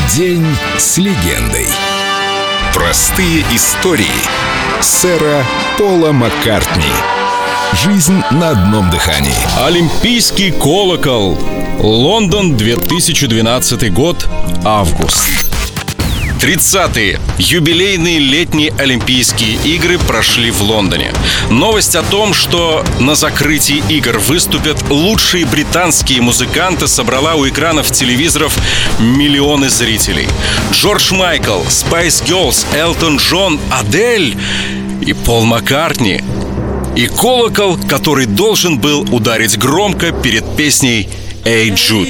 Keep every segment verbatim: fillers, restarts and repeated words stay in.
День с легендой. Простые истории сэра Пола Маккартни. Жизнь на одном дыхании. Олимпийский колокол. Лондон, две тысячи двенадцатый год. Август. тридцатые. Юбилейные летние Олимпийские игры прошли в Лондоне. Новость о том, что на закрытии игр выступят лучшие британские музыканты, собрала у экранов телевизоров миллионы зрителей. Джордж Майкл, Spice Girls, Элтон Джон, Адель и Пол Маккартни. И колокол, который должен был ударить громко перед песней «Эй, Джуд».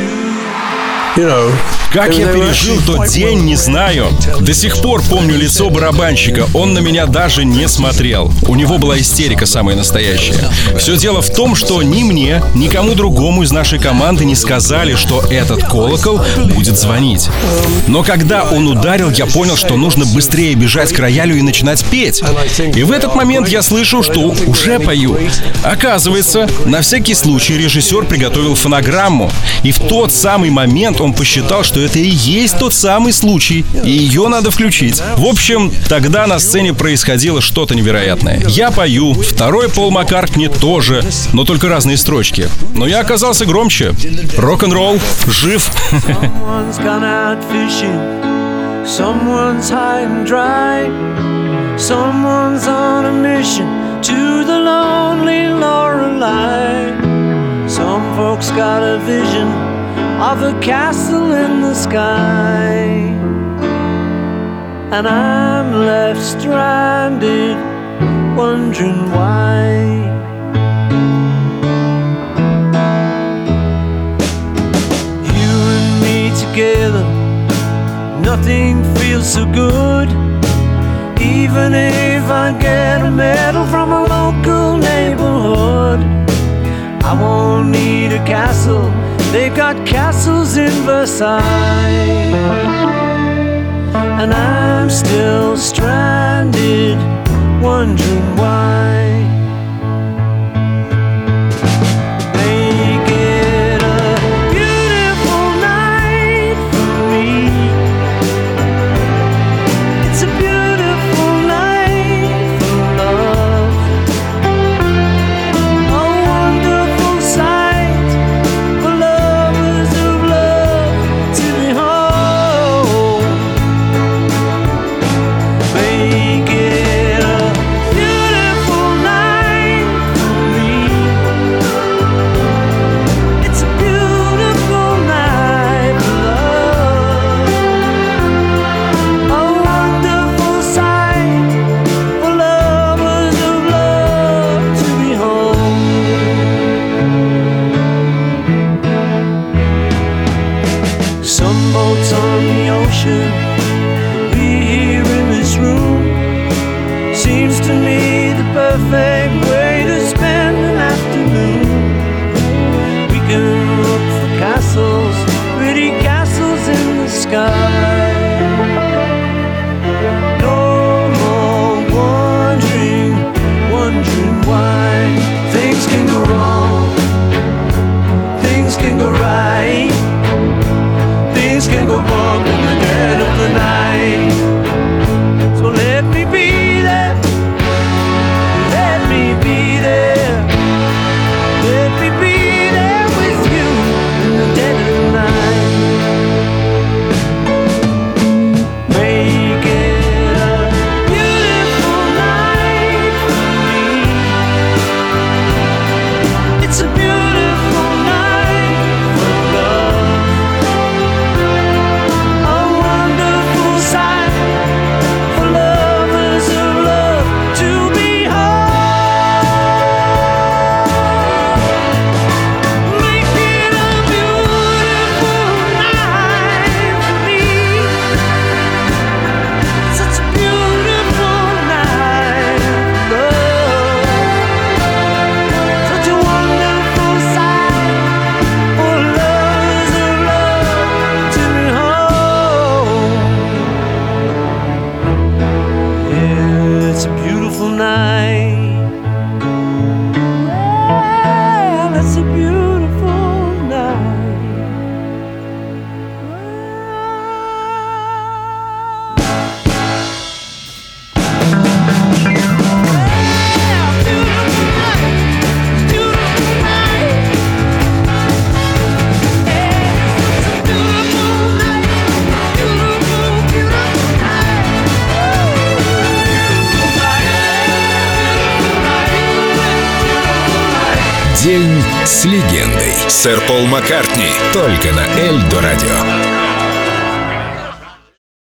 Как я пережил тот день, не знаю. До сих пор помню лицо барабанщика. Он на меня даже не смотрел. У него была истерика самая настоящая. Все дело в том, что ни мне, ни кому другому из нашей команды не сказали, что этот колокол будет звонить. Но когда он ударил, я понял, что нужно быстрее бежать к роялю и начинать петь. И в этот момент я слышу, что уже пою. Оказывается, на всякий случай режиссер приготовил фонограмму. И в тот самый момент он посчитал, что это и есть тот самый случай, и ее надо включить. В общем, тогда на сцене происходило что-то невероятное. Я пою, второй Пол Маккартни тоже, но только разные строчки. Но я оказался громче. Рок-н-ролл жив. Of a castle in the sky, and I'm left stranded, wondering why. You and me together, nothing feels so good. Even if I get a medal from a local neighborhood, I won't need a castle. They've got castles in Versailles, and I'm still stranded, wondering why. Make it a beautiful night for me. It's a beautiful night for love. A wonderful sight. Some boats on the ocean, we here in this room. Seems to me the perfect way to spend an afternoon. We can look for castles, pretty castles in the sky. No more wondering, wondering why. Things can go wrong, things can go right. Things can go wrong in the dead of the night. So let me be there, let me be there, let me be there with you in the dead of the night. День с легендой. Сэр Пол Маккартни. Только на Эльдо радио.